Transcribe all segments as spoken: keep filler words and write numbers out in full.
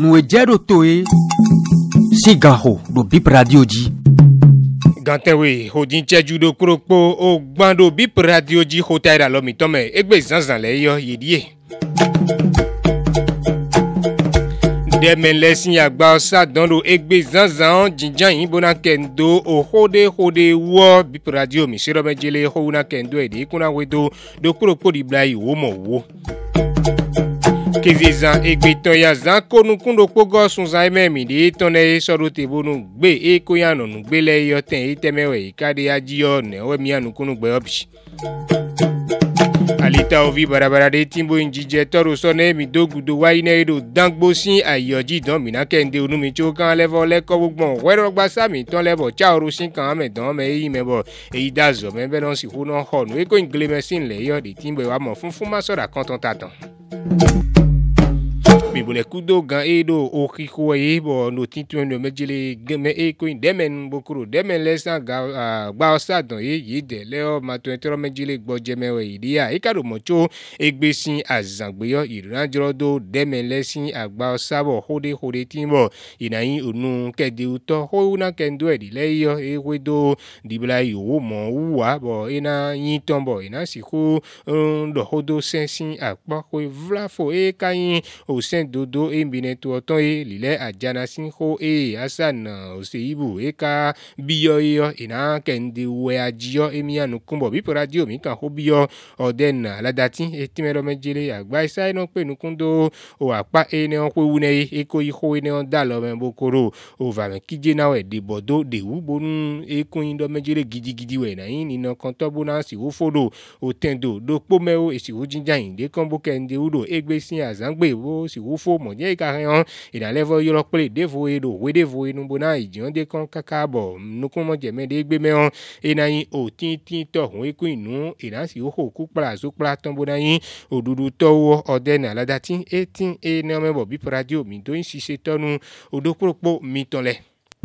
nous ejero toe sigaho do bip radio ji gantewe hodin cheju do kropo o gbando bip radio ji hotaira lo mi tome egbe zanzan le yo yedie Deme lesin agba osa dondo egbe zanzan jinjan yin bona kendo o hode hode wo bip radio mi sero mejele ho na kendo e de kuna wedo do kropo di blai wo mo wo Kezizan egbe ton ya zan konu kundo pogo sun zan memi de ton e soro te bonu gbe e ko yan no gbe le yo ten e temewe ikade ajiyo ne o mi anu kunu gbe obi Alita ovi barabara de timbo injije toro sone mi dogudo wa ine edo dangbo sin ayoji don mi na kende onu mi cho kan level le ko gbon wero gba sami ton level cha oru sin kan me don me yi me bo e dazo me be don si hu no ho no e ko ingle mesin le yo de timbo wa mo funfun ma so da kan ton tatan Bibule kudo gan edo o kiko e bo no tintu no mejele geme e ko demen bokuro demen lesa ga gba osadon e yide le o ma twenty mejele gboje mewe idia e karo mocho egbesin azangbeyo iranjoro do demen lesin agba osabo hode hode timbo inayin onu kede uto ho na kendo e le yo e wedo dibla yo mo uwa bo ina yin tombo ina siku ndo hodo sensin akpa ko vlafo e kayin o sen dodo e mbine to oton e lile ajana sin ho e asan oseibu e ka biyo yo ina kende we ajiyo e mi anu kumbo bi radio mi kan ho biyo oden ladati e timero mejele agba isa ino pe nukundo o apa e ne on ko wune e ko iho e ne on dalo me bokoro o va me kije na we de bodo de wu bonu e ko indo mejele gidigidi we na yin ino kan to bona si wo fodo o tendo do po me o e si wo jinja yin de kan bo kende udo egbe sin azangbe wo si wo fo mo je ka han ina level yo pele devo e do we devo e nu bona ijon de kan kaka bo nukun mo je me de gbe me on ina yin o tin tin to hun e ku inu ina si wo ho ku pra so pra ton bona yin odudu to wo oden aladati eighteen e ne me bo bi radio mi do yin sise tonu odopopo mi tonle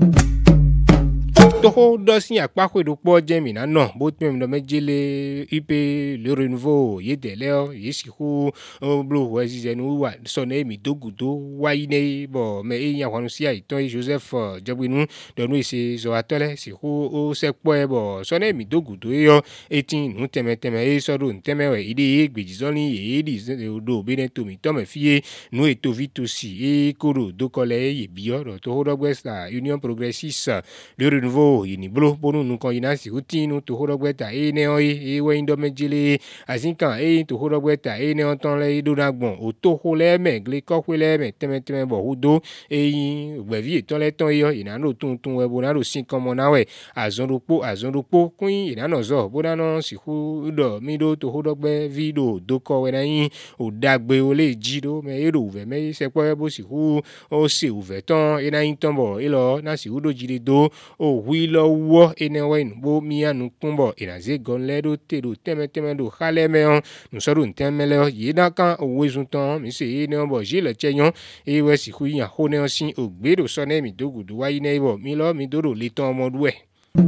Toho dosin apako edopo jemi na no bo tmem do mejele ipe le renouveau yedele o yesiku blo wezi nu wa sone mi dogudo wa ine bo me eyan kwanu si aiton Joseph Jobinu do nu ise zo atole si hu o sepo e bo sone mi dogudo yo eighteen nu teme teme e so do teme we ide egbejizoni e di do bene to mi to me fie nu eto vitosi e koro do kole ye bio do to hodogwesta Union Progressiste le renouveau yini blo bonu nu kon ina si utinu to horogweta e ne o e we indo mejele azinkan e to horogweta e ne onton le do nagbon o to ho le me gle ko ho le me teme teme bo hudo e yin gbevi eton le ton yo ina no tun tun we bo na ro sin kan mo na we azonropo azonropo kun ina no zo bo na no si hu do mi do to horogbe video do ko we na yin o dagbe o le ji do me ero uve me se po bo si hu o se uve ton ina yin ton bo e lo na si hu do jide do o wi lo wo ene we bo mi anu kumbo inaze gon le do te do teme teme do khale me on nu so do teme le yi da kan owe zun ton mi se ene bo je le cheyon e we si ku yan ho ne on sin ogbe do so ne mi dogudu wa ine bo mi lo mi do do le ton mo du e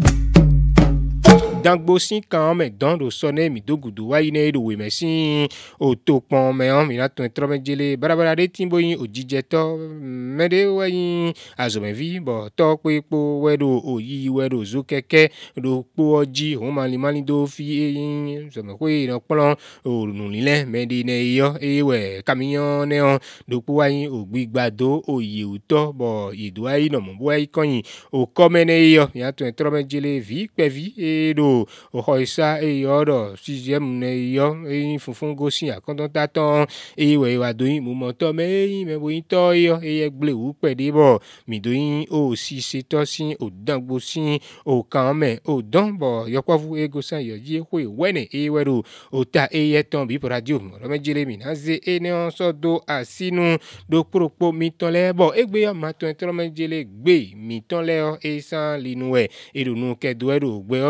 Dangbo sin kan me don do sone mi dogudu wa ine do we mesin o to pon me on mi na ton tro mejele barabara de timbo yin ojije to mede wa yin azome vi bo to pe po we do oyi we do zo keke do po oji o mali mali do fi yin so me ko ina polon o nu lile mede ne yo e we camion ne on do po wa yin ogbigbado oyi uto bo idu ayi no mo bo ayi koyin o komene yo mi na ton tro mejele vi pe vi e do o hoisa e yoro sixième ne yo e funfun go sin akon ta ton e we wa do yin mu mo to me yin me bo yin to yo e egble wu pe de bo mi do yin o si se to sin o dangbo sin o kan me o don bo yo kwa fu e go san yo ji ko e wene e weru o ta e ye ton bi radio mo me jele mi na ze e ne on so do asinu do propo mi ton le bo egbe yo ma ton tro me jele gbe mi ton le o e san linu e e do nu ke do e do gbe obi hui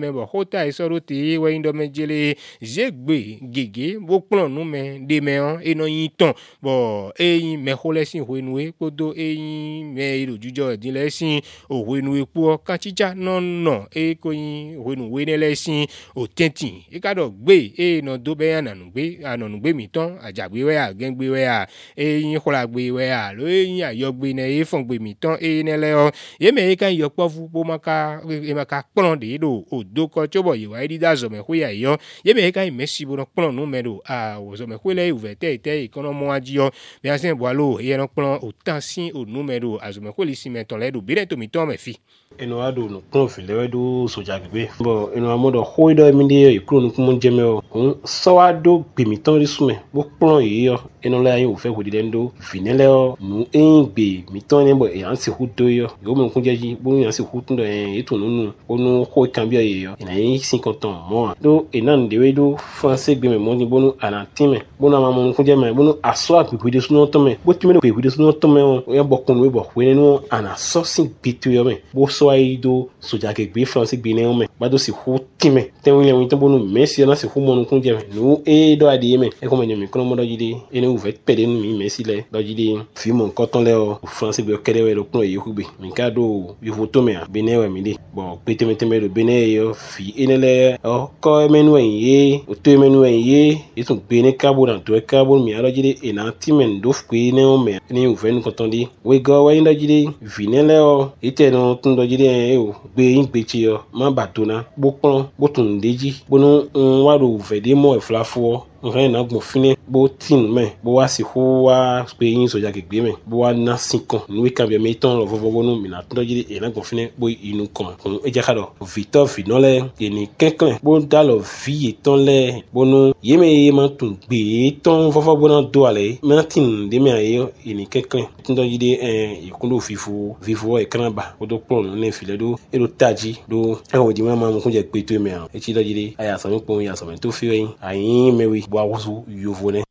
me bo hota e so ro te we ndo me jele zegbe gege bo plan nu me de me on e no yin ton bo e yin me ho lesin ho enu e podo e yin me iru jujo din lesin o ho enu e po kan chicha no no e ko yin ho enu we ne lesin o tentin e ka do gbe e no do be yan nanu gbe ananu gbe mi ton ajagbe we a gen gbe we a e yin khola gbe we a lo e yin ayo gbe ne e fon gbe mi ton e ne le o ye me e kan yo pofu bo maka e maka plan de do o do ko chobo yi wa ri da zo me hu ya yo ye me e kan mesi bo no plan nu me do a o zo me hu le ouverte te ikono mo aji yo bi asen bo alo e no plan o tansin o numero a zo me hu li si me ton le do bi re to mi ton me fi eno ado no plan fi le do soja gbe bo eno amodo ho do mi de ikuro nu kumo jeme o so ado gbe mi ton ri sume bo plan yi yo eno la yin o fe ko di ndo finele o nu en gbe mi ton ni bo e an si hu do yo yo mo kun jeji bo yan si hu tun do en eto nunu onu ho kan bi ye yo ina yin cinquante ans mo do enan de we do français gbe me mo ni bonu anatime bonu ma mo kun je me bonu aso apepe de sunu to me bo ti me pepe de sunu to me o yan bo kun we bo we nu ana so sin bitu yo me bo so ai do soja ke gbe français gbe ne o me ba do si hu time ten we yan to bonu messi na si hu mo kun je me nu e do adi me e ko me mi kono mo do jide ene u vet pede nu mi messi le do jide fi mo nkan ton le o français gbe kede we lo kun ye ku gbe mi ka do bi photo me bene we mi de bon pete me teme do bene yo fi enele o ko menu ye o to menu ye itun gbe ni cabo dan to cabo mi aro jide ena timen do fque ne o me ni u ven ko ton di we go we ndo jide vinele o ite no tun do jide e o gbe yin gbe ti yo ma batona bo pon bo tun deji bo no wa do vede mo e flafo nkan na gbon fini bo tin me bo wa si ho wa pe yin soja ke gbe me bo wa na sinkon ni we kan be me ton lo vovo bo no mi na tun jide e na gbon fini bo inu kan kun e je ka do Victor Finole eni kenken bo da lo vi ton le bo no ye me ye ma tun gbe ton vovo bo na do ale me na tin de me aye eni kenken tun do jide eh ikundo fifu vivo e kan ba bo do pon ne file do e do taji do e o di ma ma kun je pe to me e ti do jide aya so mi pon ya so me to fi yin ayin me wi wawuzu yovone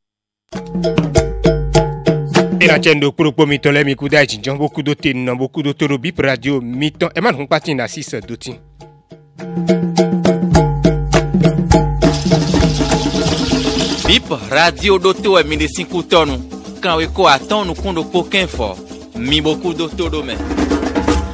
ina chendo kurupo mitole mi kuda jinjon beaucoup de tin non beaucoup de toro bip radio miton e man hun pati na six doti bip radio doto e mi de cinco tonu kan we ko aton nu kundo poken fo mi beaucoup de toro me